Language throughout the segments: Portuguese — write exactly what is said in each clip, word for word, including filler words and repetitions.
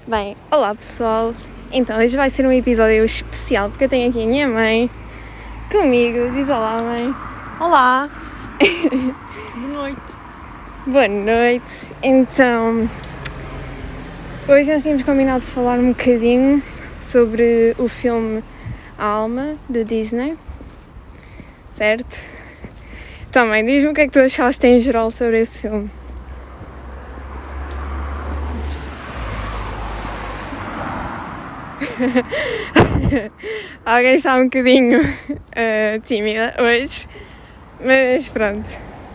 Bem, olá pessoal, então hoje vai ser um episódio especial porque eu tenho aqui a minha mãe comigo. Diz olá, mãe. Olá. Boa noite. Boa noite. Então, hoje nós tínhamos combinado de falar um bocadinho sobre o filme Alma, da Disney, certo? Também, diz-me o que é que tu achaste em geral sobre esse filme. Alguém está um bocadinho uh, tímida hoje, mas pronto.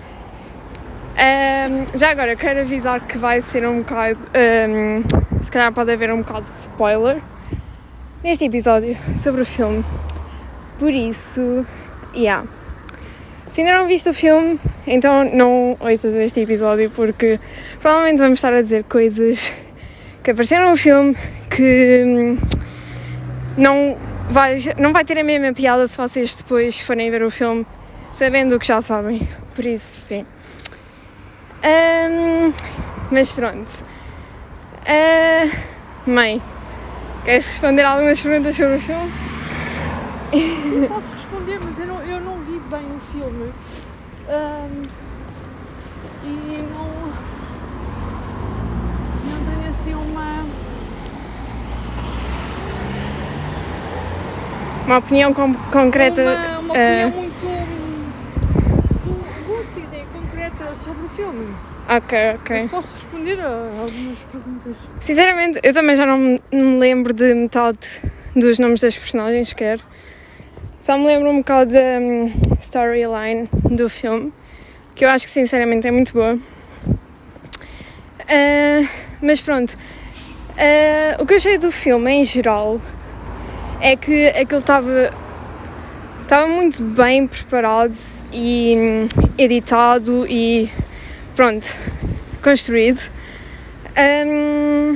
Um, já agora quero avisar que vai ser um bocado, um, se calhar pode haver um bocado de spoiler neste episódio sobre o filme. Por isso, yeah. Se ainda não viste o filme, então não ouças este episódio porque provavelmente vamos estar a dizer coisas que apareceram no filme que não vai, não vai ter a mesma piada se vocês depois forem ver o filme sabendo o que já sabem. Por isso, sim. Um, mas pronto. Uh, mãe, queres responder algumas perguntas sobre o filme? Eu posso responder, mas eu não, eu não vi bem o filme. Um, e não, não tenho assim uma... Uma opinião com, concreta. Uma, uma opinião uh, muito hum, lúcida e concreta sobre o filme. Ok, ok. Mas posso responder a algumas perguntas. Sinceramente, eu também já não me, não me lembro de metade dos nomes das personagens sequer. Só me lembro um bocado da um, storyline do filme, que eu acho que sinceramente é muito boa. Uh, mas pronto, uh, o que eu achei do filme em geral é que aquilo estava estava muito bem preparado e um, editado e pronto, construído. Um,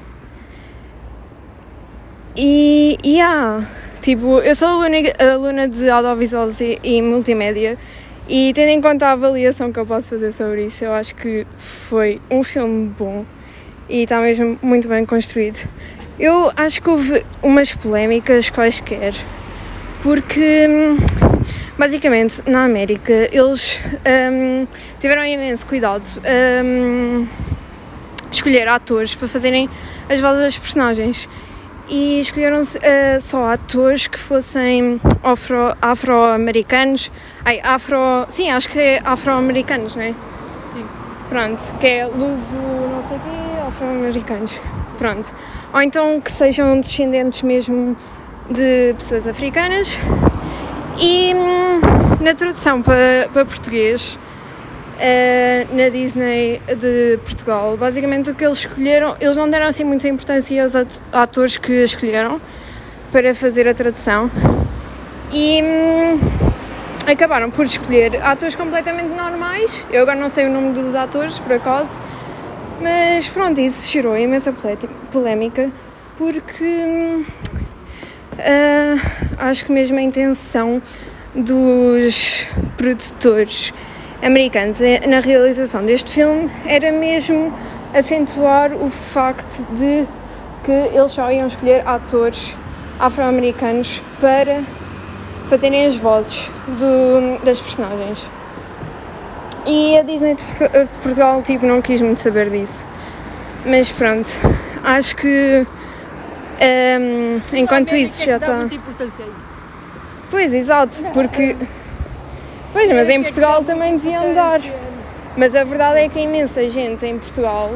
e, e yeah, tipo, eu sou aluna, aluna de audiovisuais e, e multimédia e tendo em conta a avaliação que eu posso fazer sobre isso, eu acho que foi um filme bom e está mesmo muito bem construído. Eu acho que houve umas polémicas quaisquer, porque basicamente na América eles um, tiveram imenso cuidado um, escolher atores para fazerem as vozes das personagens e escolheram uh, só atores que fossem afro, afro-americanos, ai, afro, sim, acho que é afro-americanos, não é? Sim. Pronto, que é luso, não sei o quê, afro-americanos. Pronto. Ou então que sejam descendentes mesmo de pessoas africanas. E hum, na tradução para, para português, uh, na Disney de Portugal, basicamente o que eles escolheram, eles não deram assim muita importância aos atores que escolheram para fazer a tradução. E hum, acabaram por escolher atores completamente normais. Eu agora não sei o nome dos atores, por acaso. Mas pronto, isso gerou imensa polémica porque uh, acho que mesmo a intenção dos produtores americanos na realização deste filme era mesmo acentuar o facto de que eles só iam escolher atores afro-americanos para fazerem as vozes do, das personagens. E a Disney de Portugal tipo, não quis muito saber disso. Mas pronto, acho que um, enquanto isso já está... muita importância a isso. Pois, exato, porque... Pois, mas em Portugal também deviam dar. Mas a verdade é que a imensa gente em Portugal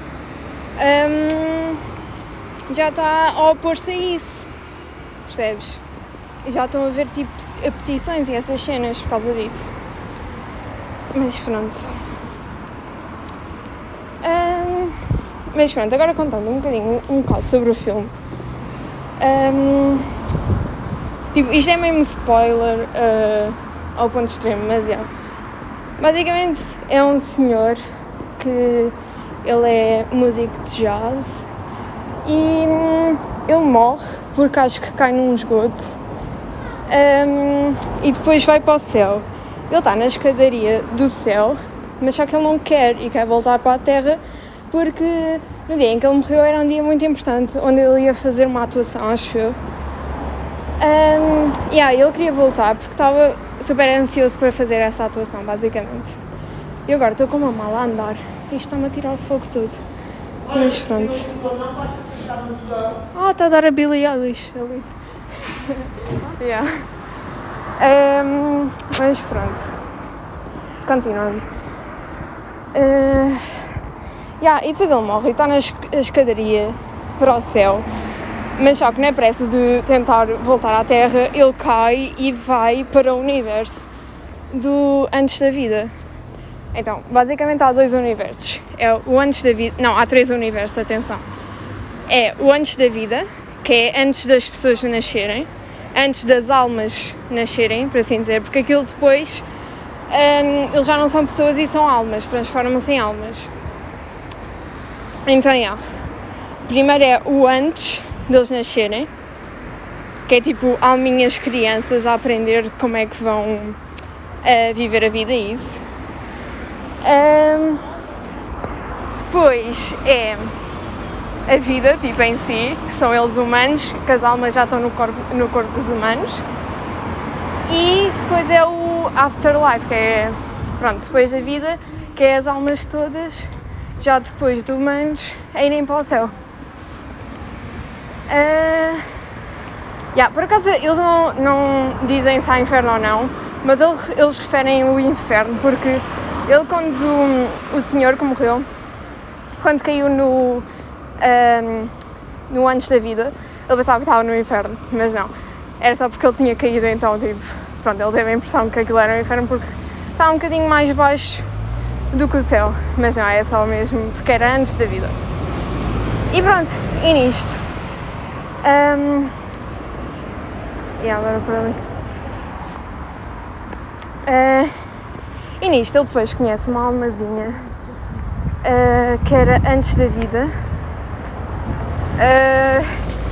um, já está a opor-se a isso. Percebes? Já estão a ver tipo petições e essas cenas por causa disso. Mas pronto. Um, mas pronto, agora contando um bocadinho, um bocado sobre o filme. Um, tipo, isto é mesmo spoiler uh, ao ponto extremo, mas é. Basicamente é um senhor que ele é músico de jazz e um, ele morre porque acho que cai num esgoto um, e depois vai para o céu. Ele está na escadaria do céu, mas só que ele não quer e quer voltar para a terra porque no dia em que ele morreu era um dia muito importante, onde ele ia fazer uma atuação, acho eu. Um, yeah, ele queria voltar porque estava super ansioso para fazer essa atuação, basicamente. E agora estou com uma mala a andar e isto está-me a tirar o fogo todo. Mas pronto. Ah, está a dar a Billie Eilish ali. yeah. um, mas pronto. Continuando. Uh, yeah, e depois ele morre e está na escadaria para o céu. Mas só que na pressa de tentar voltar à Terra, ele cai e vai para o universo do antes da vida. Então, basicamente há dois universos. É o antes da vida... Não, há três universos, atenção. É o antes da vida, que é antes das pessoas nascerem, antes das almas nascerem, por assim dizer, porque aquilo depois, um, eles já não são pessoas e são almas, transformam-se em almas. Então, yeah. Primeiro é o antes deles nascerem, que é tipo alminhas crianças a aprender como é que vão uh, viver a vida, isso. Um, depois é a vida, tipo em si, que são eles humanos, que as almas já estão no corpo, no corpo dos humanos. E depois é o afterlife, que é, pronto, depois da vida, que é as almas todas, já depois de humanos, a irem para o céu. Uh, yeah, por acaso eles não, não dizem se há inferno ou não, mas eles, eles referem o inferno porque ele, quando o, o senhor que morreu, quando caiu no, um, no antes da vida, ele pensava que estava no inferno, mas não, era só porque ele tinha caído, então tipo, pronto, ele teve a impressão que aquilo era o inferno porque estava um bocadinho mais baixo do que o céu, mas não, é só mesmo porque era antes da vida. E pronto, e nisto. Um, e agora por ali. Uh, e nisto ele depois conhece uma almazinha uh, que era antes da vida. Uh,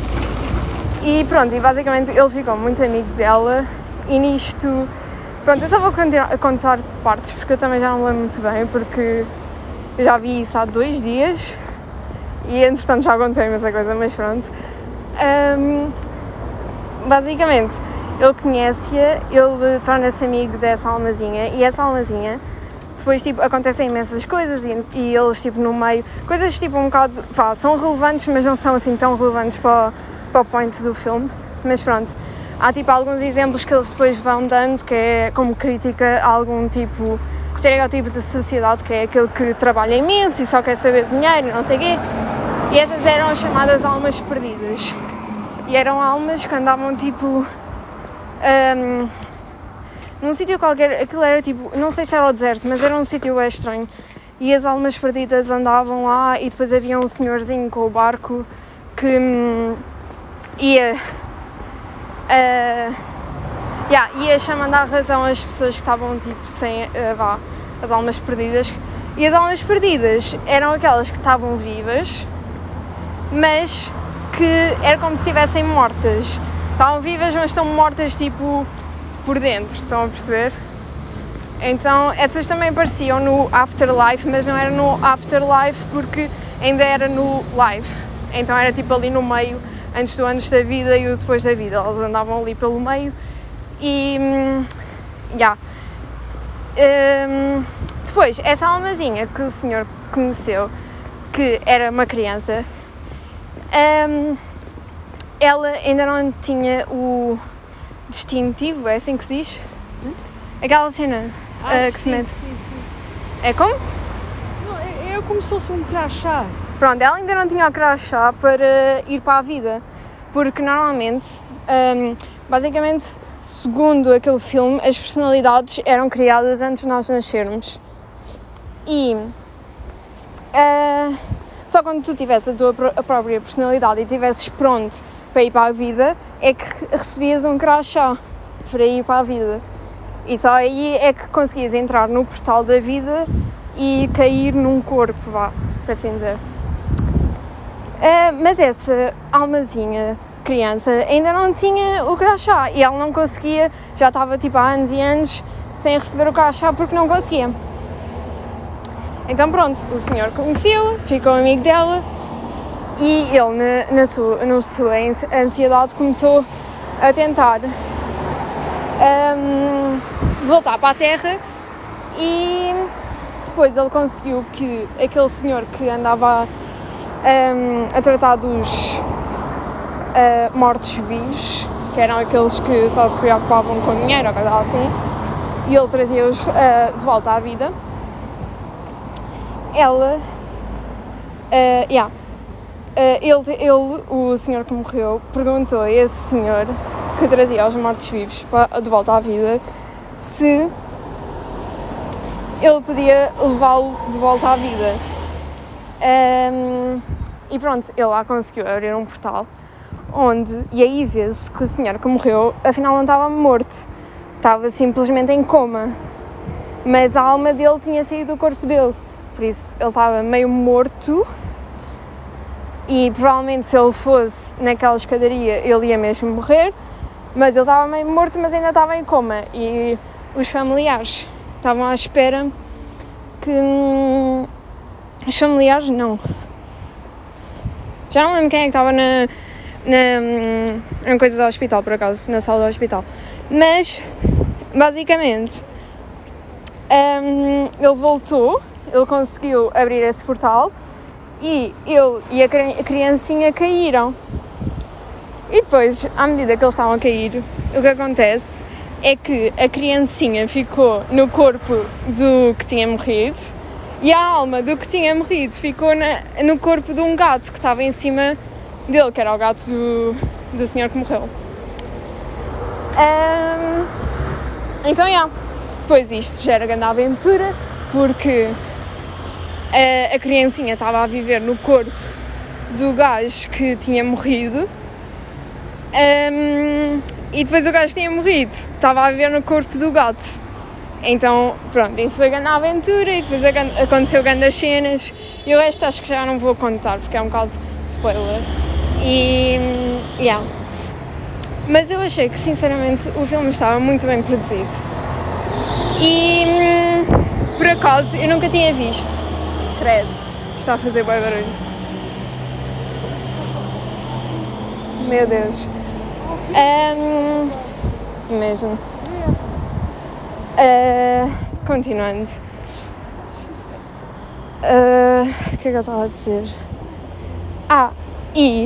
e pronto, e basicamente ele ficou muito amigo dela. E nisto, pronto, eu só vou continuar a contar partes porque eu também já não me lembro muito bem, porque eu já vi isso há dois dias e entretanto já aconteceu essa coisa, mas pronto. Um, basicamente ele conhece-a, ele torna-se amigo dessa almazinha e essa almazinha depois tipo acontecem imensas coisas e, e eles tipo no meio, coisas tipo um bocado, vá, são relevantes mas não são assim tão relevantes para, o, para o point do filme, mas pronto, há tipo alguns exemplos que eles depois vão dando que é como crítica a algum tipo, estereótipo de sociedade, que é aquele que trabalha imenso e só quer saber dinheiro, não sei o quê. E essas eram as chamadas almas perdidas. E eram almas que andavam tipo um, num sítio qualquer, aquilo era tipo, não sei se era o deserto, mas era um sítio bem estranho. E as almas perdidas andavam lá e depois havia um senhorzinho com o barco que um, ia, uh, yeah, ia chamando à razão as pessoas que estavam tipo sem, uh, vá, as almas perdidas. E as almas perdidas eram aquelas que estavam vivas, mas que era como se estivessem mortas. Estavam vivas, mas estão mortas tipo por dentro, estão a perceber? Então essas também apareciam no afterlife, mas não era no afterlife porque ainda era no life. Então era tipo ali no meio, antes do antes da vida e o depois da vida. Elas andavam ali pelo meio e... já. Yeah. Um, depois, essa almazinha que o senhor conheceu, que era uma criança, Um, ela ainda não tinha o distintivo, é assim que se diz? Hum? Aquela cena ah, uh, que sim, se mete. Sim, sim. É como? Não, é, é como se fosse um crachá. Pronto, ela ainda não tinha o crachá para ir para a vida, porque normalmente, um, basicamente, segundo aquele filme, as personalidades eram criadas antes de nós nascermos. E... Uh, Só quando tu tivesse a tua a própria personalidade e estivesses pronto para ir para a vida, é que recebias um crachá para ir para a vida. E só aí é que conseguias entrar no portal da vida e cair num corpo, vá, para assim dizer. Uh, mas essa almazinha, criança, ainda não tinha o crachá e ela não conseguia, já estava tipo há anos e anos sem receber o crachá porque não conseguia. Então pronto, o senhor conheceu, ficou amigo dela e ele, na, na, sua, na sua ansiedade, começou a tentar um, voltar para a Terra e depois ele conseguiu que aquele senhor que andava um, a tratar dos uh, mortos-vivos, que eram aqueles que só se preocupavam com dinheiro ou coisa assim, e ele trazia-os uh, de volta à vida. Ela, uh, yeah, uh, ele, ele, o senhor que morreu, perguntou a esse senhor que trazia os mortos-vivos de volta à vida se ele podia levá-lo de volta à vida. Um, e pronto, ele lá conseguiu abrir um portal onde, e aí vê-se que o senhor que morreu afinal não estava morto, estava simplesmente em coma, mas a alma dele tinha saído do corpo dele, por isso ele estava meio morto e provavelmente se ele fosse naquela escadaria ele ia mesmo morrer, mas ele estava meio morto, mas ainda estava em coma e os familiares estavam à espera que... Hum, os familiares não. Já não lembro quem é que estava na, na, na coisa do hospital, por acaso, na sala do hospital. Mas, basicamente, um, ele voltou, ele conseguiu abrir esse portal e ele e a criancinha caíram. E depois, à medida que eles estavam a cair, o que acontece é que a criancinha ficou no corpo do que tinha morrido e a alma do que tinha morrido ficou na, no corpo de um gato que estava em cima dele, que era o gato do, do senhor que morreu. Um, então, já, yeah, depois isto já era grande aventura, porque a, a criancinha estava a viver no corpo do gajo que tinha morrido. Um, e depois o gajo que tinha morrido estava a viver no corpo do gato. Então, pronto, isso foi grande aventura e depois aconteceu grandes cenas e o resto acho que já não vou contar porque é um caso de spoiler. E, yeah. Mas eu achei que, sinceramente, o filme estava muito bem produzido. E, por acaso, eu nunca tinha visto. Credo, está a fazer bem barulho. Meu Deus. Um, mesmo. Uh, continuando. Uh, o que é que eu estava a dizer? Ah, e...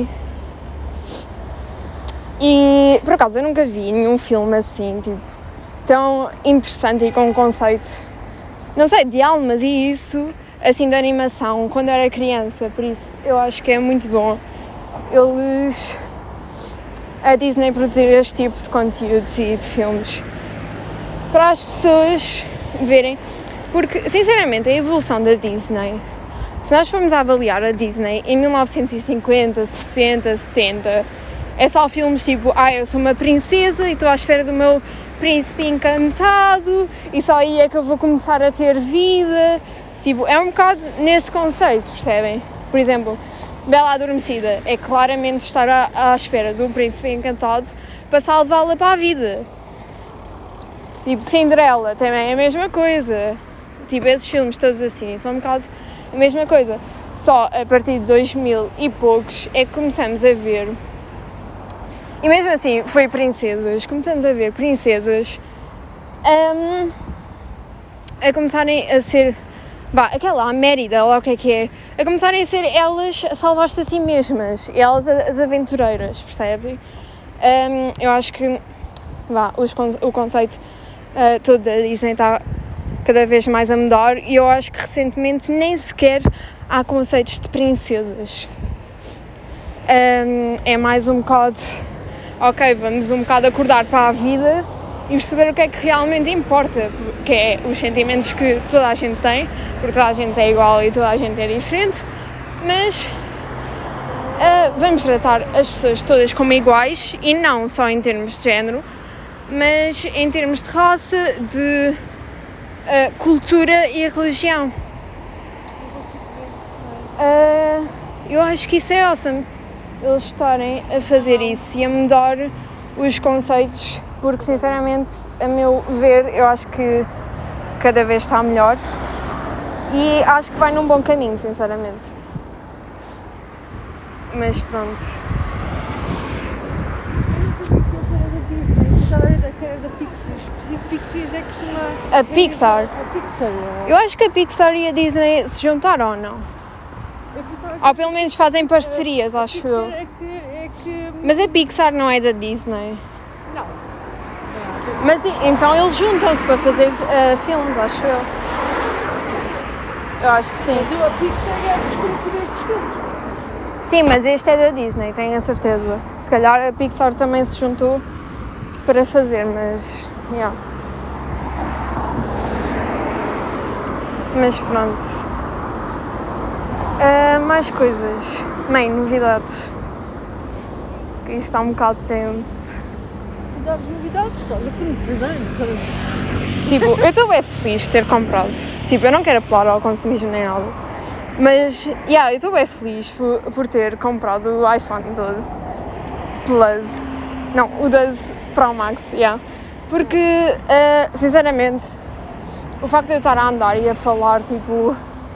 E, por acaso, eu nunca vi nenhum filme assim, tipo, tão interessante e com um conceito, não sei, de almas e isso, assim, de animação, quando eu era criança. Por isso, eu acho que é muito bom eles... a Disney produzir este tipo de conteúdos e de filmes para as pessoas verem, porque sinceramente a evolução da Disney, se nós formos a avaliar a Disney em mil novecentos e cinquenta, sessenta, setenta, é só filmes tipo, ah, eu sou uma princesa e estou à espera do meu príncipe encantado e só aí é que eu vou começar a ter vida, tipo, é um bocado nesse conceito, percebem? Por exemplo, Bela Adormecida é claramente estar à, à espera do príncipe encantado para salvá-la para a vida. Tipo, Cinderela também é a mesma coisa. Tipo, esses filmes todos assim são um bocado a mesma coisa. Só a partir de dois mil e poucos é que começamos a ver, e mesmo assim foi princesas, começamos a ver princesas um, a começarem a ser... Vá, aquela, a Mérida, lá o que é que é, a começarem a ser elas a salvar-se a si mesmas, elas as aventureiras, percebem? Um, eu acho que, vá, os, o conceito uh, todo da Disney está cada vez mais a mudar e eu acho que recentemente nem sequer há conceitos de princesas. Um, é mais um bocado, ok, vamos um bocado acordar para a vida e perceber o que é que realmente importa, que é os sentimentos que toda a gente tem, porque toda a gente é igual e toda a gente é diferente, mas uh, vamos tratar as pessoas todas como iguais e não só em termos de género, mas em termos de raça, de uh, cultura e religião. Uh, eu acho que isso é awesome, eles estarem a fazer isso e a mudar os conceitos, porque sinceramente, a meu ver, eu acho que cada vez está melhor e acho que vai num bom caminho, sinceramente. Mas pronto. Eu nunca vi que essa era da Disney, já era da, que era da Pixar. Pixies é que costuma... A Pixar? A Pixar. Eu acho que a Pixar e a Disney se juntaram ou não? Eu pensava que Ou pelo menos fazem parcerias, a acho Pixar eu. é que, é que... Mas a Pixar não é da Disney. Não. Mas e- então eles juntam-se para fazer uh, filmes, acho eu. Eu acho que sim. Mas a Pixar é que costuma fazer estes filmes. Sim, mas este é da Disney, tenho a certeza. Se calhar a Pixar também se juntou para fazer, mas... Yeah. Mas pronto. Uh, mais coisas. Mãe, novidades. Que isto está um bocado tenso. Novidades, novidades, olha que muito bem. Tipo, eu estou bem feliz de ter comprado. Tipo, eu não quero apelar ao consumismo nem nada. Mas, yeah, eu estou bem feliz por, por ter comprado o iPhone doze Plus. Não, o doze Pro Max, yeah. Porque, uh, sinceramente, o facto de eu estar a andar e a falar, tipo, uh,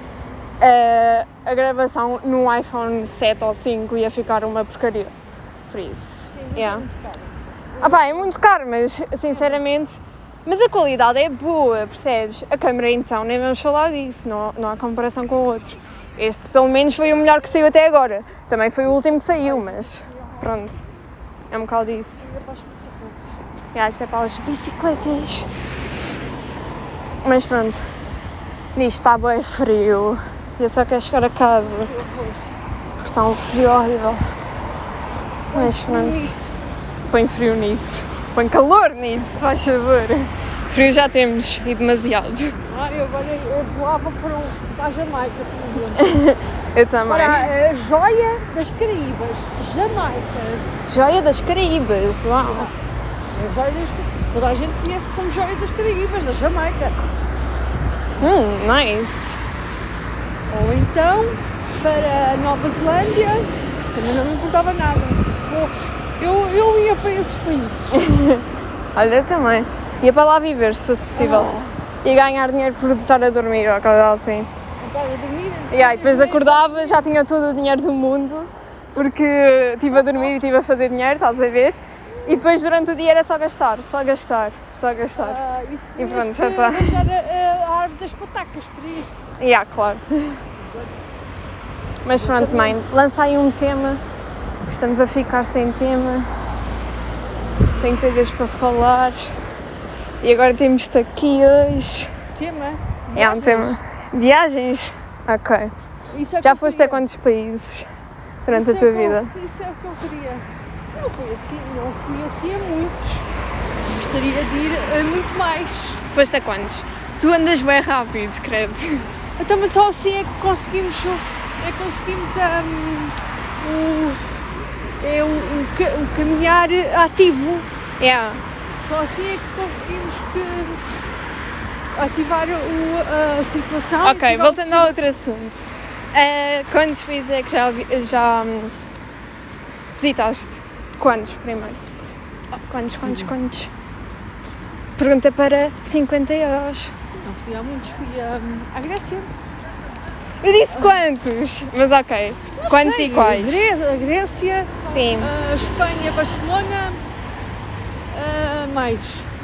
a gravação no iPhone sete ou cinco ia ficar uma porcaria. Por isso, Sim, yeah. é muito caro. Ah pá, é muito caro, mas sinceramente, mas a qualidade é boa, percebes? A câmera então, nem vamos falar disso, não, não há comparação com o outro. Este pelo menos foi o melhor que saiu até agora. Também foi o último que saiu, mas pronto, é um bocado disso. E é para as bicicletas. Yeah, isto é para as bicicletas. Mas pronto, nisto está bem frio. Eu só quero chegar a casa, porque está um frio horrível. Mas pronto. Põe frio nisso, põe calor nisso, se faz favor. Frio já temos, e demasiado. Ah, eu agora eu voava para, um, para a Jamaica, por exemplo. Eu também. Para a joia das Caraíbas, Jamaica. Joia das Caraíbas, uau. É a joia das Caraíbas. Toda a gente conhece como joia das Caraíbas, da Jamaica. Hum, nice. Ou então para a Nova Zelândia, também não me importava nada. Ou, Eu, eu ia para esses países. Olha, eu também. Ia para lá viver, se fosse possível. E ganhar dinheiro por estar a dormir ou coisa assim. Estava a dormir. E aí, depois acordava, já tinha todo o dinheiro do mundo, porque estive a dormir e estive a fazer dinheiro, estás a ver? E depois durante o dia era só gastar, só gastar, só gastar. Ah, isso E pronto, tinhas já que está. mandar a, a árvore das patacas, por isso. E yeah, claro. Mas pronto, mãe, lança aí um tema. Estamos a ficar sem tema, sem coisas para falar. E agora temos-te aqui hoje. Tema? É um tema. Viagens? Ok. Isso é que Já eu foste a queria. quantos países durante Isso a é tua que eu- vida? Isso é o que eu queria. Não fui assim, não fui assim a muitos. Gostaria de ir a muito mais. Foste a quantos? Tu andas bem rápido, credo. Então, mas só assim é que conseguimos, é que conseguimos hum, o, é o, o, ca- o caminhar ativo. Yeah. Só assim é que conseguimos que ativar o, a circulação. Ok, ativar o voltando ao outro assunto. Uh, quantos países é que já, vi- já hum, visitaste? Quantos, primeiro? Quantos, quantos, quantos? Pergunta para cinquenta euros. Não fui a muitos, fui a, à Grécia. Eu disse quantos? Mas ok. Quantos Sei, e quais? A Gré- a Grécia, Sim. a Espanha, Barcelona, a mais.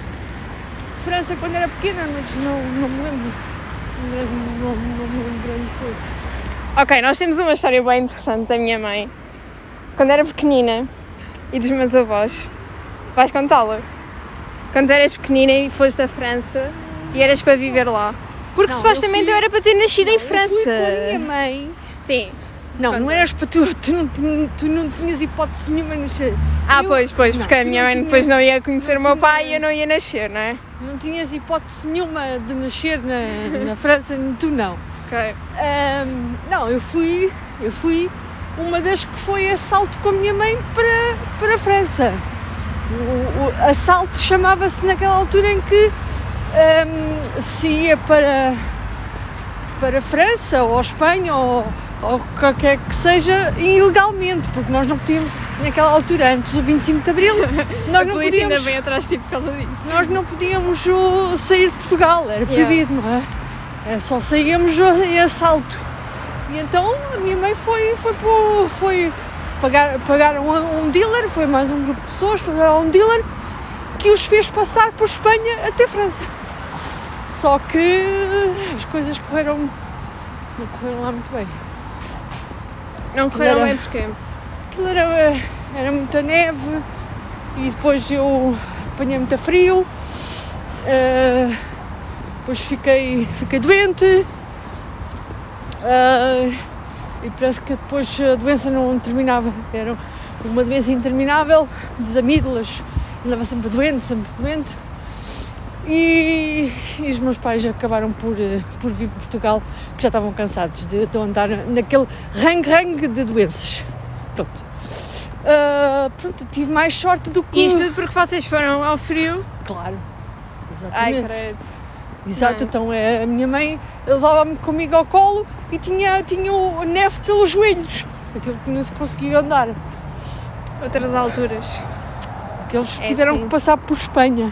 França quando era pequena, mas não, não me lembro. Não, não, não me lembro grande coisa. Ok, nós temos uma história bem interessante da minha mãe. Quando era pequenina e dos meus avós. Vais contá-la? Quando eras pequenina e foste à França e eras para viver lá. Porque Não, supostamente eu eu, fui- era para ter nascido em Eu fui com a minha França. mãe. Sim. Não, Conta. não eras para tu, tu não, tin- tu não tinhas hipótese nenhuma de nascer. Ah, Eu- pois, pois, não, porque a tu minha não mãe tinhas- depois não ia conhecer não o meu tinha- pai e eu não ia nascer, não é? Não tinhas hipótese nenhuma de nascer na, na França, tu não. Ok. Ahm, não, eu fui, eu fui uma das que foi assalto com a minha mãe para, para a França. O, o assalto chamava-se naquela altura em que ahm, se ia para, para a França ou a Espanha ou, ou qualquer que seja ilegalmente, porque nós não podíamos, naquela altura, antes do vinte e cinco de Abril, nós A não polícia ainda podíamos, vem atrás de ti por causa disso. nós não podíamos uh, sair de Portugal, era proibido, não é? Era só saíamos uh, em assalto. E então a minha mãe foi, foi, para o- foi pagar, pagaram a um dealer, foi mais um grupo de pessoas, pagaram a um dealer que os fez passar por Espanha até França. Só que as coisas correram, não correram lá muito bem. Não correram Era- bem porquê? Aquilo era, era muita neve e depois eu apanhei muito frio, uh, depois fiquei, fiquei doente uh, e parece que depois a doença não terminava, era uma doença interminável das amígdalas, andava sempre doente, sempre doente e, e os meus pais acabaram por, uh, por vir para Portugal porque já estavam cansados de, de andar naquele rangue-rangue de doenças. Pronto. Uh, pronto, tive mais sorte do que... E isto tudo porque vocês foram ao frio? Claro, Ai, exatamente. credo. Exato, Não. então é, a minha mãe levava-me comigo ao colo e tinha, tinha o neve pelos joelhos, aquilo que não se conseguia andar. Outras alturas. Que eles É tiveram assim. que passar por Espanha.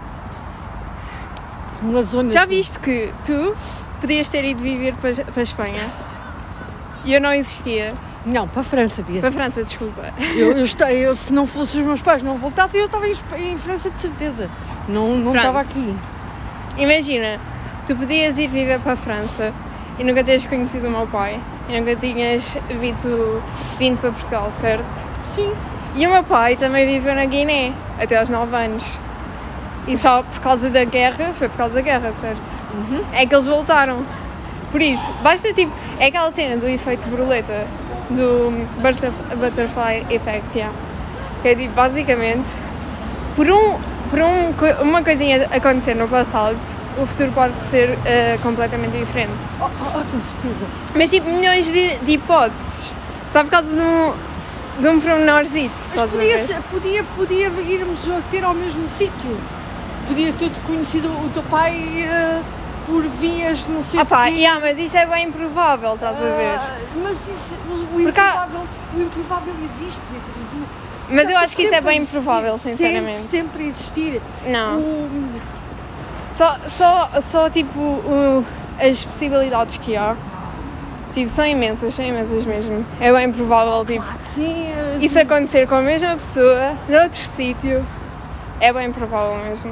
Uma zona Já de- viste que tu podias ter ido viver para, para a Espanha e eu não existia? Não, para a França, Bia. Para a França, desculpa. Eu, eu, esta- eu, se não fossem os meus pais não voltassem, eu estava em, Espa- em França de certeza. Não, não Pronto. estava aqui. Imagina, tu podias ir viver para a França e nunca teres conhecido o meu pai e nunca tinhas vindo, vindo para Portugal, certo? Sim. E o meu pai também viveu na Guiné até aos nove anos. E só por causa da guerra, foi por causa da guerra, certo? Uhum. É que eles voltaram. Por isso, basta tipo, é aquela cena do efeito borboleta, do butterf- butterfly effect, yeah. Que é tipo, basicamente, por, um, por um, co- uma coisinha acontecer no passado, o futuro pode ser eh, completamente diferente. Oh, oh, oh, com certeza. Mas tipo, milhões de, de hipóteses. Só por causa de um, de um pormenorzito, Mas estás a podia, ver? ser- podia, podia irmos ter ao mesmo sítio. Podia ter conhecido o teu pai uh, por vias, não sei Ah pá, quê. yeah, mas isso é bem improvável, estás a ver? Ah, mas isso, o, o, Porque há- improvável, o improvável existe, Beatriz. Mas eu acho que isso é Sempre bem existir, improvável, sinceramente. Sempre, sempre existir. Não. O, Só, só, só tipo, o- as possibilidades que há, tipo, são imensas, são imensas mesmo. É bem provável, tipo, claro que sim. eh, isso acontecer com a mesma pessoa, noutro sítio. É bem provável mesmo.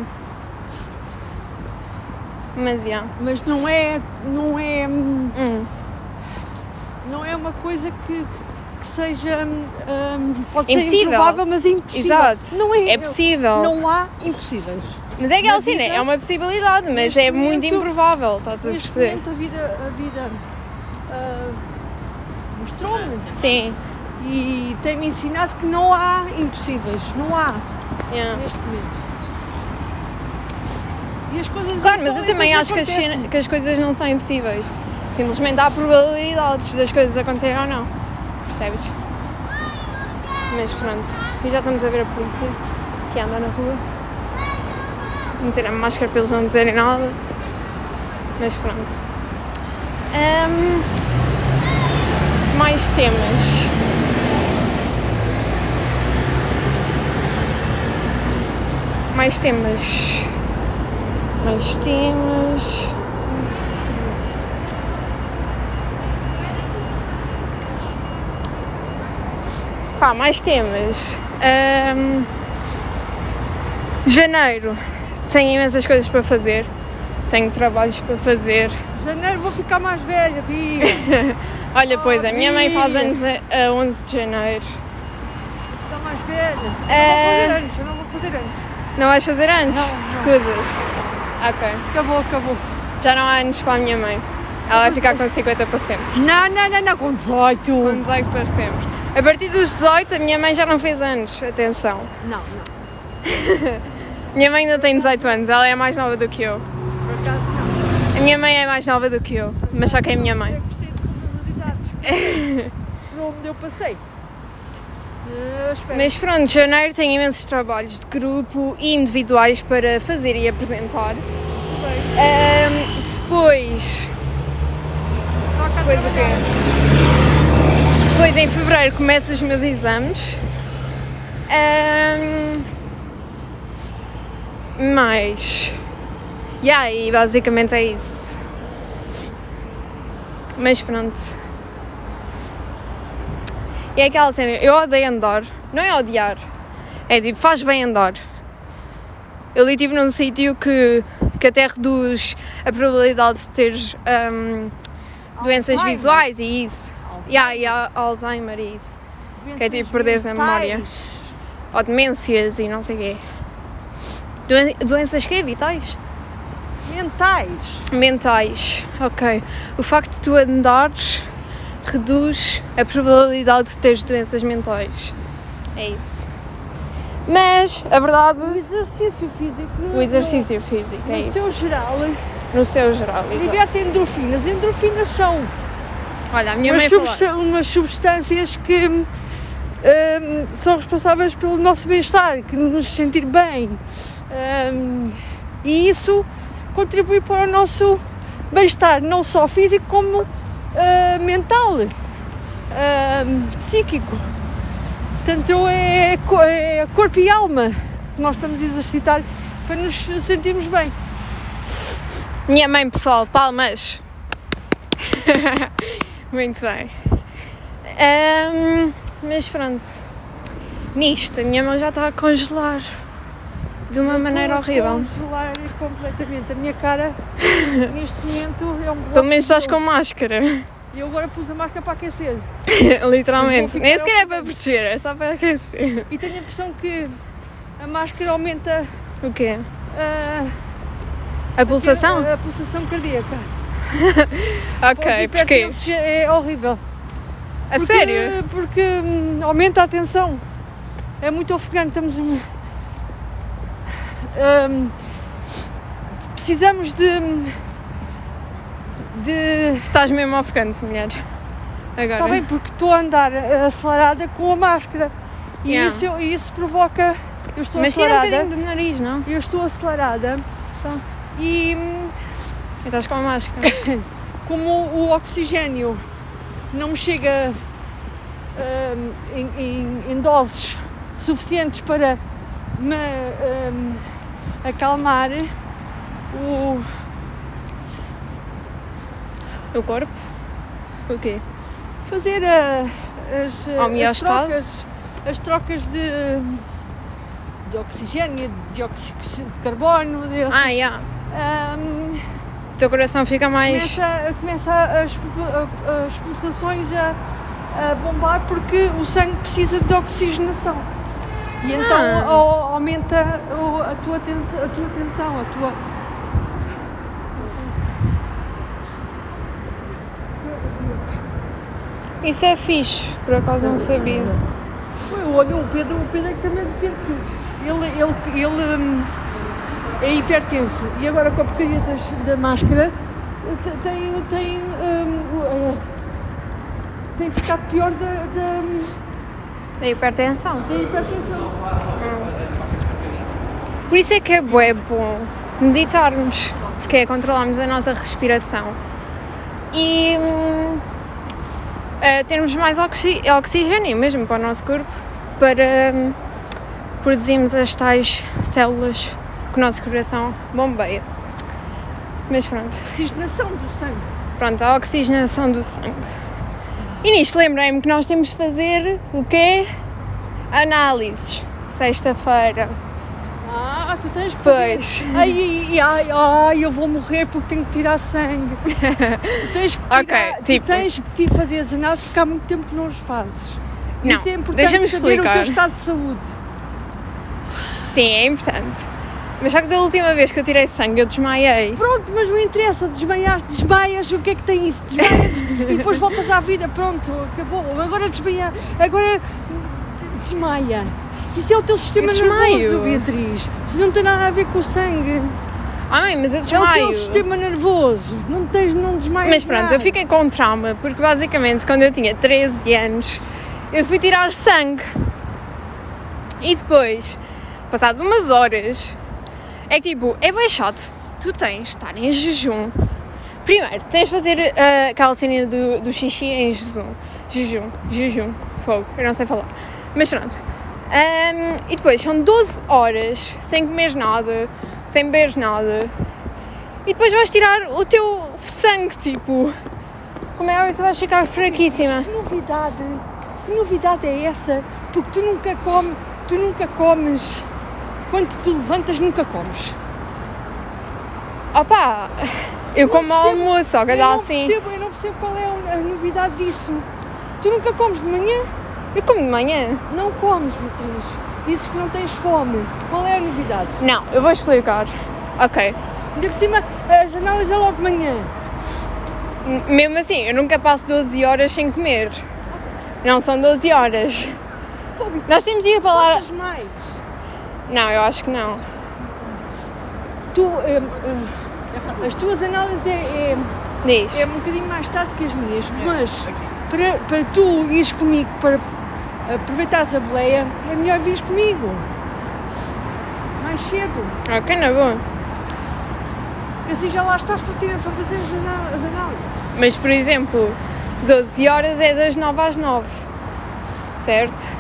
Mas, já. Mas não é, não é, hum, Hum. não é uma coisa que, que seja, hum, pode Impossível. ser improvável, mas é impossível. Exato. Não é, É possível. Não há impossíveis. Mas é aquela Na cena, vida, é uma possibilidade, mas neste é muito momento- improvável, estás a Neste perceber? momento a vida, a vida ah, mostrou-me Sim. e tem-me ensinado que não há impossíveis, não há Yeah. neste momento. E as coisas Claro, mas eu insólitas também acho que as, acontecem. cena- que as coisas não são impossíveis. Simplesmente há probabilidades das coisas acontecerem ou não. Percebes? Mas pronto. E já estamos a ver a polícia que anda na rua. Meter a máscara para eles não dizerem nada. Mas pronto. Ahm, mais temas. Mais temas. Mais temas. Pá, mais temas. Ahm, janeiro. Tenho imensas coisas para fazer. Tenho trabalhos para fazer. Janeiro vou ficar mais velha, Bia. Olha, pois, a minha mãe faz Bia. anos a, a onze de janeiro. Ficar mais velha. É. Eu não vou fazer anos, eu não vou fazer anos. Não vais fazer anos? Não, não. Escusas. Ok. Acabou, acabou. Já não há anos para a minha mãe. Ela vai ficar com cinquenta para sempre. Não, não, não, não, com dezoito. Com dezoito para sempre. A partir dos dezoito, a minha mãe já não fez anos. Atenção. Não, não. Minha mãe ainda tem dezoito anos. Ela é mais nova do que eu. Por acaso não. A minha mãe é mais nova do que eu. Mas só que é a minha mãe. Eu gostei de todas as idades. Por onde eu passei. Eu espero. Mas pronto, janeiro tem imensos trabalhos de grupo e individuais para fazer e apresentar. Ahm, depois... Depois o quê? Depois em fevereiro começo os meus exames. Ahm, mais... E aí, basicamente é isso. Mas pronto. E é aquela cena, eu odeio andar, não é odiar, é tipo, faz bem andar. Eu li tipo num sítio que, que até reduz a probabilidade de teres um, doenças Alzheimer. visuais e isso. E yeah, yeah, Alzheimer e isso. Doenças Que é tipo perderes a memória. mentais. Ou demências e não sei o quê. Doen- doenças quê? Vitais? Mentais. Mentais, ok. O facto de tu andares reduz a probabilidade de teres doenças mentais. É isso. Mas, a verdade, O exercício físico. o exercício físico, é No seu isso. geral, No seu geral, exato. liberte endorfinas. Endorfinas são Olha, a minha umas, mãe falou... substan- umas substâncias que hum, são responsáveis pelo nosso bem-estar, que nos sentir bem. Hum, e isso contribui para o nosso bem-estar, não só físico como uh, mental, uh, psíquico. Portanto, é, co- é corpo e alma que nós estamos a exercitar para nos sentirmos bem. Minha mãe, pessoal, palmas. Muito bem. Ahm, mas pronto. Nisto, a minha mão já está a congelar de uma maneira Estou a horrível. congelar completamente. A minha cara, neste momento, é um bloco. Pelo menos de estás gelo. com máscara. E eu agora pus a máscara para aquecer. Literalmente. Vou Nem ficar sequer é para proteger, é só para aquecer. E tenho a impressão que a máscara aumenta O quê? ah, A pulsação? a, a pulsação cardíaca. Ok, Para os porquê? hipertensos é horrível. A Porque- sério? Porque hum, aumenta a tensão. É muito ofegante. Estamos. hum, hum, precisamos de. de Estás mesmo ofegante, mulher. Agora. Está bem, porque estou a andar acelerada com a máscara. E Yeah. isso, e isso provoca. Eu estou Mas tira um acelerada. bocadinho do nariz, não? Eu estou acelerada Só. e hum, E estás com a máscara. como o oxigênio não me chega hum, em, em- em doses suficientes para me hum, acalmar, o, O corpo? O quê? fazer a, as, as Homeostase? trocas, as trocas de, de oxigênio, de dióxido de carbono, desse, Ah, yeah. hum, O teu coração fica mais... começa, começa as, a- as pulsações a, a bombar porque o sangue precisa de oxigenação. E então Ah. au- aumenta o- a tua tensão, a tua tensão, a tua. Isso é fixe, por acaso não sabia. Eu olho o Pedro, o Pedro é que também a dizer que ele, ele, ele hum, é hipertenso e agora com a porcaria das, da máscara te- tem, tem, hum, uh, tem ficado pior da, da, Da hipertensão. da hipertensão. Por isso é que é bué bom meditarmos, porque é controlarmos a nossa respiração e hum, eh, termos mais oxi- oxigênio mesmo para o nosso corpo, para hum, produzirmos as tais células que o nosso coração bombeia. Mas pronto, Oxigenação do sangue. pronto, a oxigenação do sangue. E nisto lembrei-me que nós temos de fazer o quê? Análises. Sexta-feira. Ah, tu tens que fazer. Pois. Ai, ai, ai, ai, eu vou morrer porque tenho que tirar sangue. Tu tens que tirar, Ok, tu tipo- tens que ti- fazer as análises porque há muito tempo que não as fazes. Não, Isso é importante deixa-me saber o teu explicar. estado de saúde. Sim, é importante. Mas só que da última vez que eu tirei sangue eu desmaiei. Pronto, mas não interessa, desmaias, desmaias, o que é que tem isso? Desmaias e depois voltas à vida, pronto, acabou. Agora desmaia, agora desmaia. Isso é o teu sistema Eu desmaio. nervoso, Beatriz. Isso não tem nada a ver com o sangue. Ai, mas eu É o desmaio. teu sistema nervoso. Não tens, não desmaias. Mas pronto, eu fiquei com trauma, porque basicamente quando eu tinha treze anos, eu fui tirar sangue. E depois, passado umas horas, é que tipo, é bem chato. Tu tens de estar em jejum. Primeiro, tens de fazer ah, aquela cena do, do xixi em jejum. Jejum, jejum, fogo, eu não sei falar. Mas pronto. Ahm, e depois são doze horas sem comer nada, sem beber nada. E depois vais tirar o teu sangue, tipo, como é óbvio, tu vais ficar fraquíssima. Que novidade. que novidade é essa? Porque tu nunca comes, tu nunca comes, quando te levantas nunca comes. Opa, eu como ao percebo, almoço, só que eu dá não assim. percebo, eu não percebo qual é a novidade disso. Tu nunca comes de manhã? Eu como de manhã. Não comes, Beatriz. Dizes que não tens fome. Qual é a novidade? Não, eu vou explicar. Ok. Ainda por cima, as análises é logo de manhã. M- Mesmo assim, eu nunca passo doze horas sem comer. Não são doze horas. Pô, Beatriz, Nós temos de ir para lá. passas mais. Não, eu acho que não. Tu, eh, eh, as tuas análises é, é, Diz. é um bocadinho mais tarde que as minhas, mas para, para tu ires comigo, para aproveitares a boleia, é melhor vires comigo. Mais cedo. Ok, na boa. Porque assim já lá estás para, ter, para fazer as, anál- as análises. Mas, por exemplo, doze horas é das nove às nove. Certo?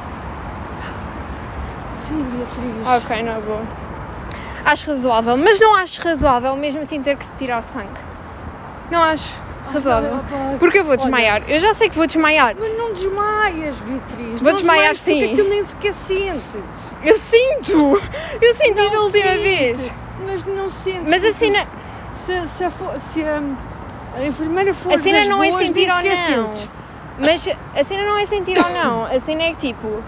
Sim, Beatriz. Ok, na boa. Acho razoável, mas não acho razoável mesmo assim ter que se tirar sangue. Não acho razoável. Ah, pá, Porque eu vou olha, desmaiar. Eu já sei que vou desmaiar. Mas não desmaias, Beatriz. Vou Não desmaiar, desmaias sim. Porque aquilo nem sequer sentes. Eu sinto! Eu senti da Não última sente, vez. Mas não sentes. Mas a porque cena, Se, se, a, fo- se a, a enfermeira for a cena das não é boas, sentir nem ou sequer não. sentes. Mas a cena não é sentir ou não. A cena é que tipo.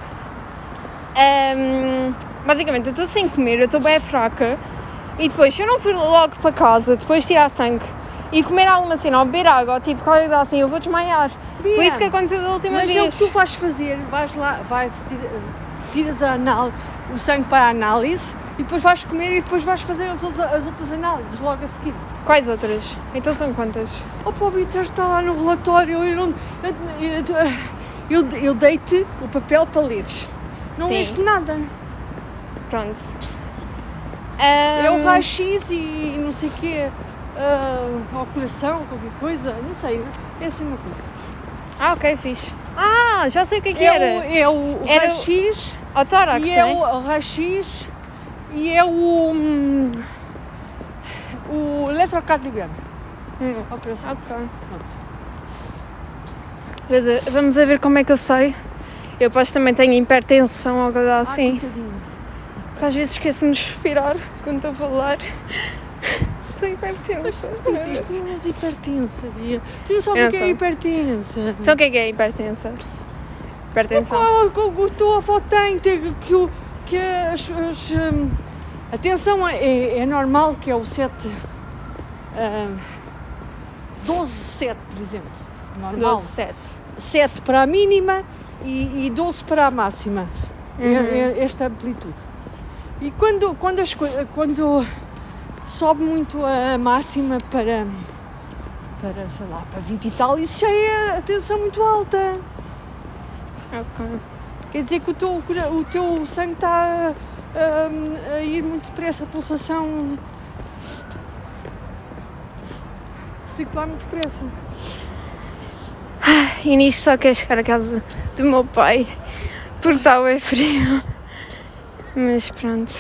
hum, basicamente, eu estou sem comer, eu estou bem fraca. E depois, se eu não for logo para casa, depois tirar sangue e comer alguma cena ou beber água, ou tipo qualquer coisa assim, eu vou desmaiar. Foi Bia, isso que aconteceu da última Mas vez. é o que tu vais fazer, vais lá, vais tira- tiras a anál- o sangue para a análise e depois vais comer e depois vais fazer as outras, as outras análises logo a seguir. Quais outras? Então são quantas? Oh, pô, Beatriz, está lá no relatório, eu não. Eu, eu, eu, eu dei-te o papel para leres. Não Sim. leste nada. Pronto. É o Hum, raio-x e não sei o quê, ah, ao coração, qualquer coisa, não sei, é assim uma coisa. Ah, ok, fixe. Ah, já sei o que é que É era. o, é o Era o- raio-x Ao tórax, e é né? o, o raio-x e é o, hum, o eletrocardiograma. Hum, Ao coração. ok. Pronto. Mas, eh, vamos a ver como é que eu sei. Eu depois também tenho hipertensão ou coisa Ah, assim. coitadinho. Porque às vezes esqueço-me de respirar quando estou a falar. Sou hipertensa. Beatriz, tu não és hipertensa, Bia. Tu não sabes Eu o que é sou. hipertensa. Então o que é que é hipertensa? Hipertensão. Qual que a tua avó tem? tem que, o- que as, as, hum, a tensão é, é normal, que é o sete, hum, doze, sete, por exemplo. Normal. doze, sete. sete para a mínima e, e doze para a máxima. É- Uhum. é esta amplitude. E quando, quando, as, coi- quando sobe muito a máxima para, para, sei lá, para vinte e tal, isso já é a tensão muito alta. Ok. Quer dizer que o teu, cora- o teu sangue está hum, a ir muito depressa, a pulsação circular muito depressa. E nisto só quero chegar a casa do meu pai. Porque está bem frio. Mas pronto.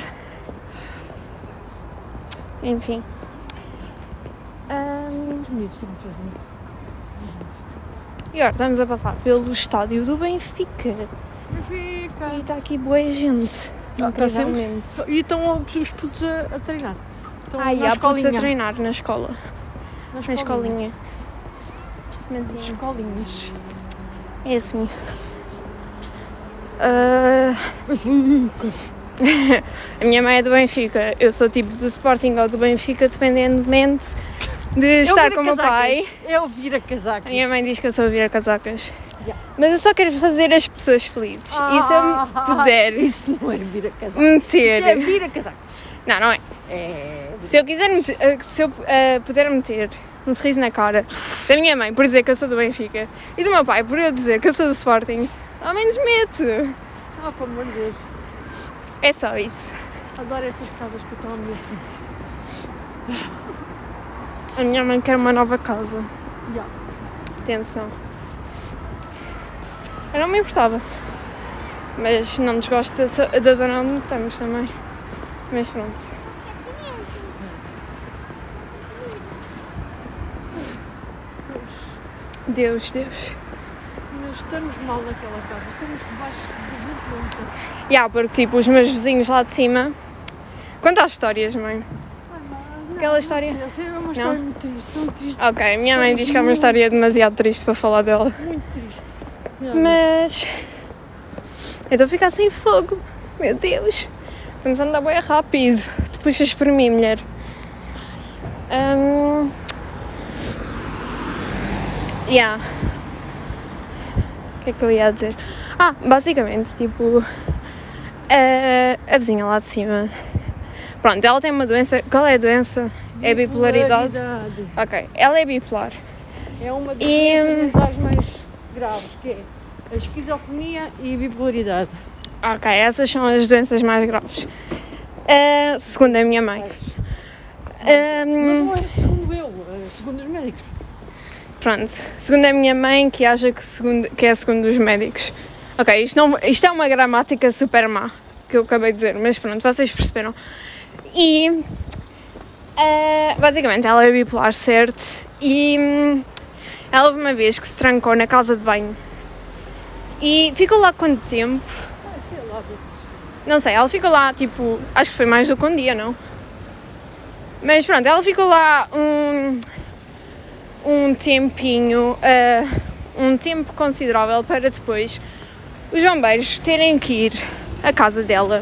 Enfim. Ahm, Os miúdos sempre fazem isso. e agora estamos a passar pelo estádio do Benfica. Benfica. E está aqui boa gente. Ah, está sempre. incrivelmente. E estão os putos a, a treinar. Estão Ah, e na há putos a escolinha. treinar na escola. Na Na escolinha. Mas Nas sim, escolinhas. é assim. Ah, a minha mãe é do Benfica. Eu sou tipo do Sporting ou do Benfica, dependentemente de estar com o meu pai. É ouvir a casacas. A minha mãe diz que eu sou a virar casacas. Yeah. Mas eu só quero fazer as pessoas felizes. E se eu me puder Isso não é vir a casacas. meter. Isso é vir a casacas. Não, não é. É. Se eu quiser meter, eh, se eu eh, puder meter um sorriso na cara da minha mãe por dizer que eu sou do Benfica e do meu pai por eu dizer que eu sou do Sporting, ao menos mete. Ah, pelo amor de Deus. É só isso. Adoro estas casas que estão à minha frente. A minha mãe quer uma nova casa. Yeah. Atenção. Eu não me importava. Mas não desgosto da, da zona onde estamos também. Mas pronto. Deus, Deus. Meu estamos mal naquela casa, estamos debaixo de vinte quilómetros. Já, yeah, porque tipo, os meus vizinhos lá de cima. Conta as histórias, mãe. Aquela não, história? Não, essa é uma história não? muito triste, são tristes. Ok, minha mãe diz que é uma história demasiado triste para falar dela. Muito triste. Mas eu estou a ficar sem fogo. Meu Deus. Estamos a andar bem rápido. Tu puxas por mim, mulher. Um... Yeah. O que é que eu ia dizer? Ah, basicamente, tipo, a, a vizinha lá de cima. Pronto, ela tem uma doença. Qual é a doença? É bipolaridade? Bipolaridade. Ok, ela é bipolar. É uma das E... das mais graves, que é a esquizofrenia e a bipolaridade. Ok, essas são as doenças mais graves. Uh, segundo a minha mãe. Um, Mas não é segundo eu, é segundo os médicos. Pronto, segundo a minha mãe, que acha que, segundo, que é segundo os médicos. Ok, isto, não, isto é uma gramática super má, que eu acabei de dizer, mas pronto, vocês perceberam. E, uh, basicamente, ela é bipolar, certo? E um, ela houve uma vez que se trancou na casa de banho. E ficou lá quanto tempo? Ah, sei lá, não sei, ela ficou lá, tipo, acho que foi mais do que um dia, não? Mas pronto, ela ficou lá um... um tempinho, uh, um tempo considerável para depois os bombeiros terem que ir à casa dela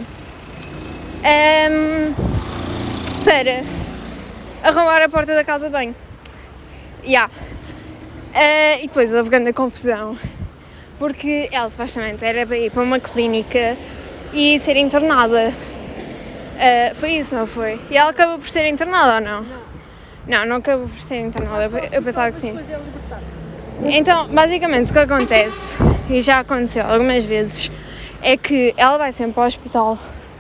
um, para arrumar a porta da casa de banho. Yeah. Uh, e depois houve grande confusão, porque ela supostamente era para ir para uma clínica e ser internada. Uh, foi isso, não foi? E ela acabou por ser internada ou não? Não. Não, não acabou por ser internada, eu pensava que sim. Então, basicamente, o que acontece, e já aconteceu algumas vezes, é que ela vai sempre para o hospital,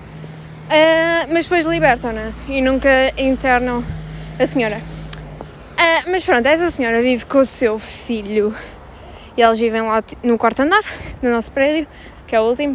uh, mas depois libertam-na e nunca internam a senhora. Uh, mas pronto, essa senhora vive com o seu filho e eles vivem lá no quarto andar do nosso prédio, que é o último.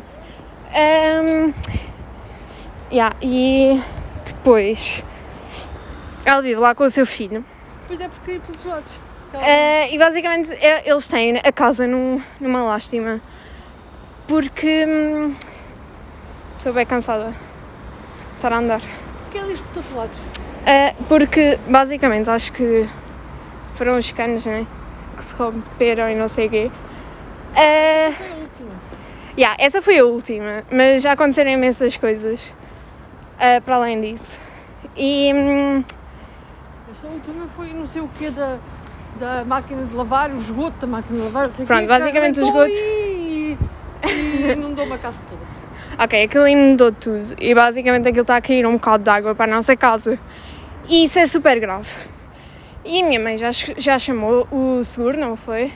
Um, yeah, e depois... ela vive lá com o seu filho. Pois é, porque é pelos lados. Uh, e basicamente é, eles têm a casa num, numa lástima. Porque hum, estou bem cansada de estar a andar. Porque é lixo por todos os lados. Uh, porque basicamente acho que foram os canos, né? Que se romperam e não sei o quê. Uh, Foi a última. Yeah, essa foi a última, mas já aconteceram imensas coisas uh, para além disso. E. Hum, Esta última foi não sei o quê da, da máquina de lavar, o esgoto da máquina de lavar. Sei Pronto, quê, basicamente o esgoto. E, e inundou uma casa toda. Ok, aquilo inundou tudo e basicamente aquilo está a cair um bocado de água para a nossa casa. E isso é super grave. E a minha mãe já, já chamou o seguro, não foi?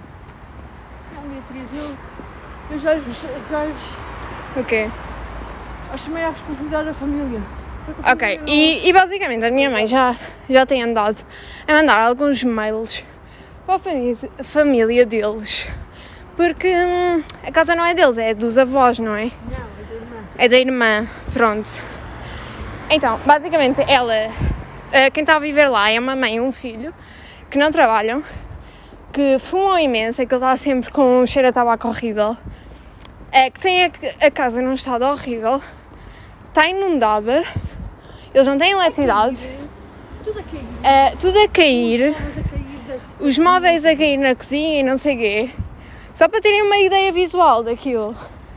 Não, Beatriz, eu, eu já, já, O quê? já chamei à responsabilidade da família. Ok, e, e basicamente a minha mãe já, já tem andado a mandar alguns mails para a família, a família deles, porque hum, a casa não é deles, é dos avós, não é? Não, é da irmã. É da irmã, pronto. Então, basicamente ela, quem está a viver lá é uma mãe e um filho que não trabalham, que fumam imenso, aquilo está sempre com um cheiro a tabaco horrível, que tem a, a casa num estado horrível, está inundada. Eles não têm eletricidade, Tudo a cair. uh, tudo a cair, Os móveis a cair das- os móveis a cair na cozinha e não sei o quê, só para terem uma ideia visual daquilo.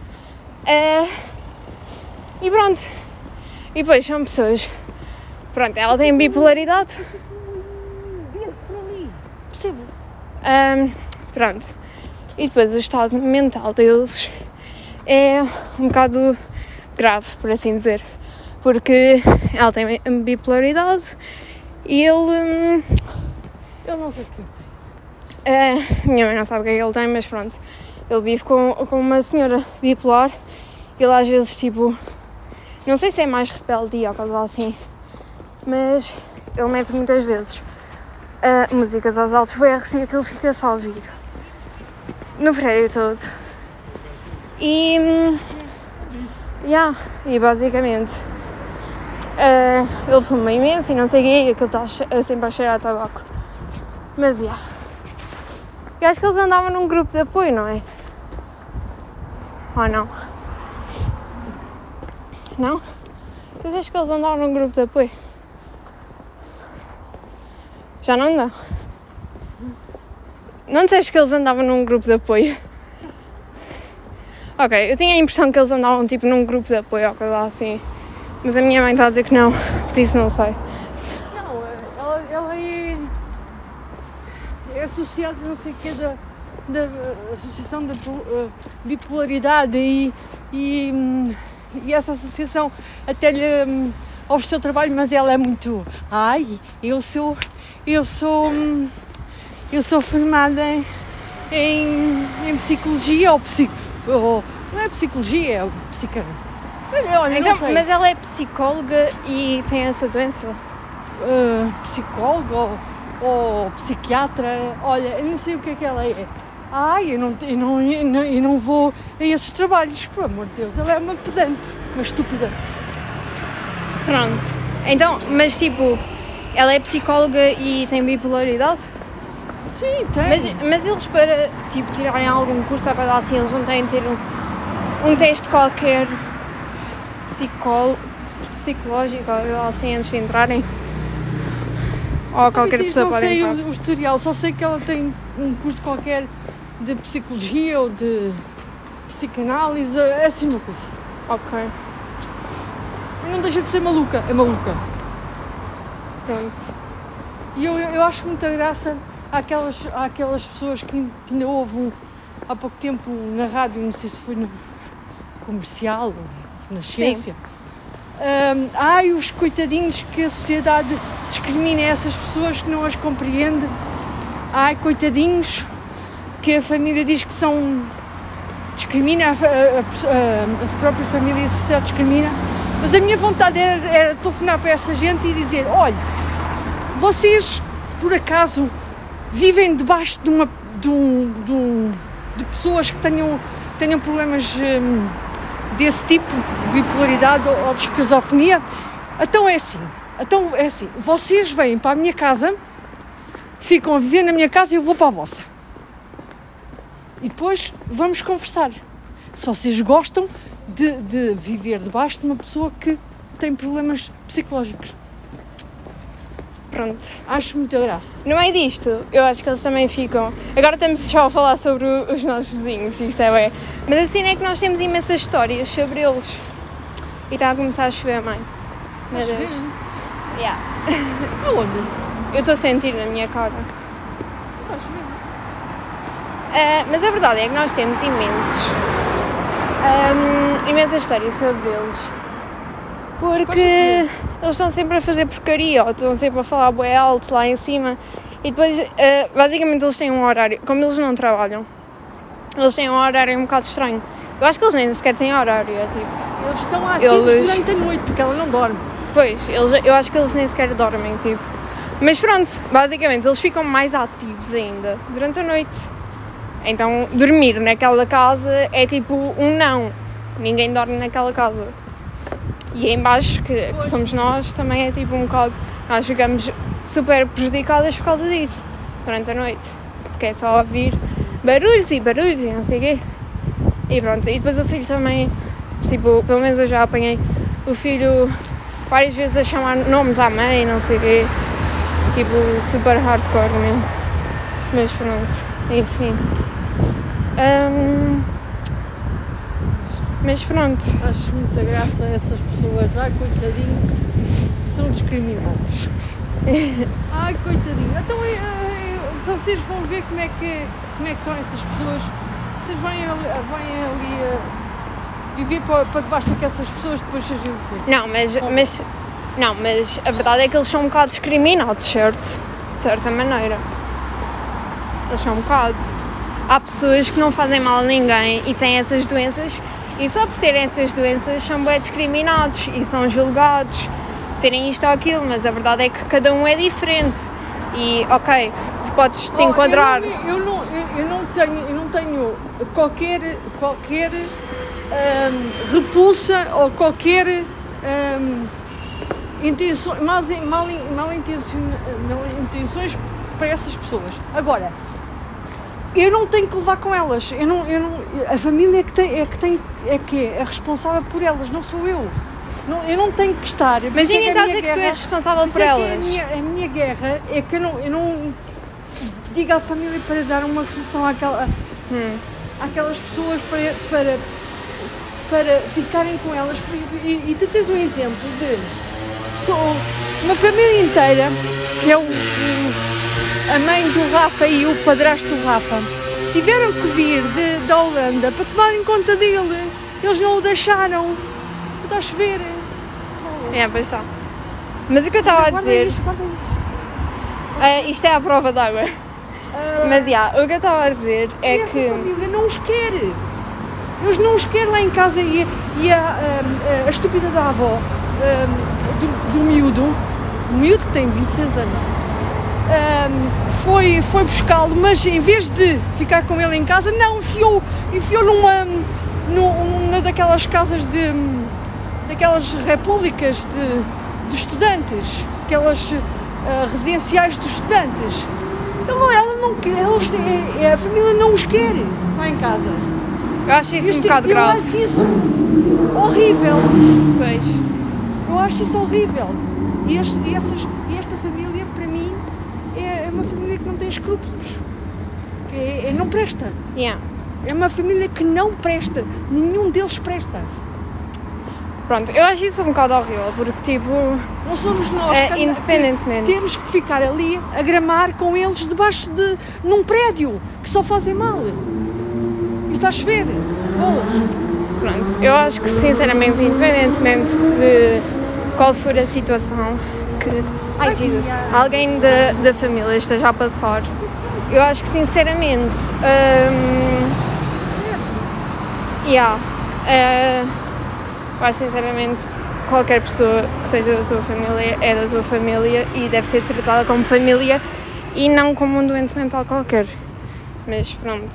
Uh, e pronto, e depois são pessoas, pronto, ela tem bipolaridade, Vê por ali. Percebo. um, pronto, e depois o estado mental deles é um bocado grave, por assim dizer. Porque ela tem bipolaridade e ele... Hum, Eu não sei o que é que tem. uh, minha mãe não sabe o que é que ele tem, mas pronto. Ele vive com, com uma senhora bipolar. Ele às vezes, tipo... Não sei se é mais rebeldia ou coisa assim. Mas ele mete muitas vezes uh, músicas aos altos berros e aquilo fica só a ouvir. No prédio todo. E... Hum, yeah, e basicamente... Uh, ele fuma imenso e não sei o quê, e aquilo está sempre a cheirar a tabaco. Mas, já. Yeah. Eu acho que eles andavam num grupo de apoio, não é? Ou não? Não? Tu achas que eles andavam num grupo de apoio? Já não andam? Não disseste que eles andavam num grupo de apoio? Ok, eu tinha a impressão que eles andavam tipo num grupo de apoio ou coisa assim. Mas a minha mãe está a dizer que não, por isso não sei. Não, ela, ela é, é associada, não sei o que, da, da Associação da Bipolaridade e, e, e essa associação até lhe um, ofereceu trabalho, mas ela é muito... Ai, eu sou... Eu sou... Eu sou formada em, em psicologia ou psico... Ou, não é psicologia, é psica... Olha, Então, não sei. mas ela é psicóloga e tem essa doença? Uh, psicólogo ou, ou psiquiatra, olha, eu não sei o que é que ela é. Ai, eu não, eu, não, eu, não, eu não vou a esses trabalhos, por amor de Deus, ela é uma pedante, uma estúpida. Pronto. Então, mas tipo, ela é psicóloga e tem bipolaridade? Sim, tem. Mas, mas eles para, tipo, tirarem algum curso ou coisa assim, eles não têm de ter um, um teste qualquer psicó, psicológico ou coisa assim antes de entrarem? Ou qualquer pessoa não pode sei entrar? o, o historial, só sei que ela tem um curso qualquer de psicologia ou de psicanálise, é assim uma coisa. Ok, E não deixa de ser maluca, é maluca. pronto. E eu, eu acho muita graça àquelas, àquelas pessoas que, que ainda houve um, há pouco tempo na rádio, não sei se foi no comercial ou na ciência. Um, ai, os coitadinhos que a sociedade discrimina essas pessoas que não as compreende. Ai, coitadinhos que a família diz que são... discrimina a, a, a, a própria família e a sociedade discrimina. Mas a minha vontade era, era telefonar para essa gente e dizer: olha, vocês por acaso vivem debaixo de uma de, um, de, um, de pessoas que tenham, tenham problemas hum, desse tipo, de bipolaridade ou, ou de esquizofonia? Então é assim, então é assim, vocês vêm para a minha casa, ficam a viver na minha casa e eu vou para a vossa. E depois vamos conversar. Se vocês gostam de, de viver debaixo de uma pessoa que tem problemas psicológicos. Pronto. Acho muita graça. No meio disto, eu acho que eles também ficam... Agora estamos só a falar sobre o- os nossos vizinhos, isto é bem. Mas assim é que nós temos imensas histórias sobre eles. E está a começar a chover, mãe. Meu Acho Deus. bem. Yeah. Aonde? Eu estou a sentir na minha cara. Está a chover. Ah, mas a verdade é que nós temos imensos... ahm, imensas histórias sobre eles. Porque eles estão sempre a fazer porcaria, ou estão sempre a falar bué alto lá em cima. E depois, ah, basicamente, eles têm um horário... Como eles não trabalham, eles têm um horário um bocado estranho. Eu acho que eles nem sequer têm horário, é tipo... Eles estão ativos Eles- durante a noite, porque ela não dorme. Pois, eles, eu acho que eles nem sequer dormem, tipo. Mas pronto, basicamente, eles ficam mais ativos ainda durante a noite. Então, dormir naquela casa é tipo um não. Ninguém dorme naquela casa. E em baixo, que, que somos nós, também é tipo um bocado... Nós ficamos super prejudicadas por causa disso, durante a noite. Porque é só ouvir barulhos e barulhos e não sei o quê. E pronto, e depois o filho também... Tipo, pelo menos eu já apanhei o filho várias vezes a chamar nomes à mãe, não sei o quê. Tipo, super hardcore mesmo. Mas pronto, enfim. Ahm, mas pronto. Acho muita graça essas pessoas. Ai, coitadinhos, que são discriminados. Ai, coitadinho. Então, é, é, vocês vão ver como é que, como é que são essas pessoas. Vocês vêm ali, vêm ali a viver para, para debaixo dessas pessoas, depois a gente... Não, mas, mas, não, mas a verdade é que eles são um bocado discriminados, certo? De certa maneira. Eles são um bocado. Há pessoas que não fazem mal a ninguém e têm essas doenças, e só por terem essas doenças são bem discriminados e são julgados, serem isto ou aquilo, mas a verdade é que cada um é diferente. E, ok, tu podes te Oh, enquadrar... Eu não, eu, não, eu, eu não tenho, eu não tenho qualquer, qualquer hum, repulsa ou qualquer hum, intenção, mal, mal, mal, intencion, mal intenções para essas pessoas. Agora, eu não tenho que levar com elas. Eu não, eu não, a família é que, tem, é, que tem, é que é responsável por elas, não sou eu. Não, eu não tenho que estar. Mas ninguém está a dizer que tu és responsável por, por elas. É a, minha, a minha guerra é que eu não, eu não digo à família para dar uma solução àquela, hum. àquelas pessoas para, para, para ficarem com elas. E, e tu tens um exemplo de sou uma família inteira, que é o, o, a mãe do Rafa e o padrasto do Rafa, tiveram que vir de, da Holanda para tomarem conta dele. Eles não o deixaram. Está a chover. É, pois está. Mas o que eu estava a dizer... Isso, guarda isso. Uh, isto é a prova d'água. Uh, Mas, já, yeah, o que eu estava a dizer é e que... A família não os quer. Eles não os querem lá em casa e, e a, a, a estúpida da avó um, do, do miúdo, o miúdo que tem vinte e seis anos, um, foi, foi buscá-lo, mas em vez de ficar com ele em casa, não, enfiou, enfiou numa, numa daquelas casas de... daquelas repúblicas de, de estudantes, aquelas uh, residenciais dos estudantes. Ela, ela não quer, eles, é, a família não os quer lá em casa. Eu acho isso este, um bocado eu grave. Eu acho isso horrível. Pois. Eu acho isso horrível. E, este, e, essas, e esta família, para mim, é, é uma família que não tem escrúpulos. Que é, é, não presta. Yeah. É uma família que não presta. Nenhum deles presta. Pronto, eu acho isso um bocado horrível, porque tipo... Não somos nós é, que, independentemente. que temos que ficar ali a gramar com eles debaixo de... num prédio, que só fazem mal. E está a chover. Bolas. Pronto, eu acho que sinceramente, independentemente de qual for a situação que... Ai, Jesus, alguém da, da família esteja a passar, eu acho que sinceramente... Um, yeah, uh, eu acho sinceramente qualquer pessoa que seja da tua família é da tua família e deve ser tratada como família e não como um doente mental qualquer. Mas pronto.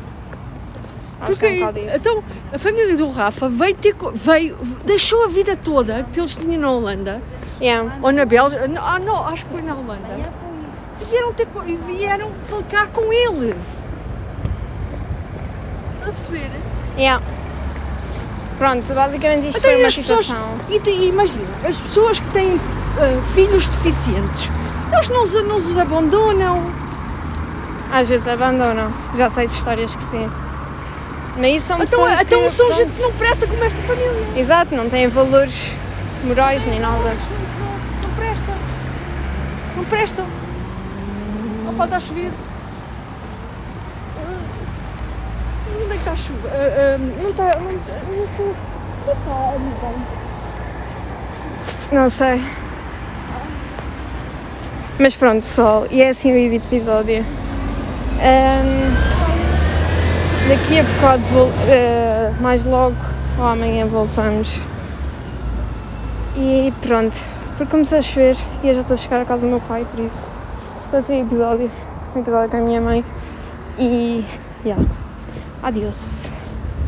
Acho Porque, que é um bocado isso. então, a família do Rafa veio ter, veio, deixou a vida toda que eles tinham na Holanda, Yeah. ou na Bélgica, ah não, acho que foi na Holanda, e vieram, ter, e vieram ficar com ele. Estás a perceber? Yeah. Pronto, basicamente isto Até foi uma as pessoas, situação. e, te, imagina, as pessoas que têm uh, filhos deficientes, eles não os, não os abandonam. Às vezes abandonam. Já sei de histórias que sim. Mas isso são Então, pessoas que... então são pronto. gente que não presta como esta família. Exato, não têm valores morais nem nada. Não, não prestam. Não prestam. Não pode estar a chover. Onde é que está a chuva? Uh, uh, não está. Não, não sei. Onde está a nuvem? Não sei. Mas pronto, pessoal, e é assim o episódio. Um, daqui a bocado, uh, mais logo, ou amanhã voltamos. E pronto, porque começou a chover e eu já estou a chegar à casa do meu pai, por isso. Ficou assim o episódio, um episódio com a minha mãe. E, yeah, adiós.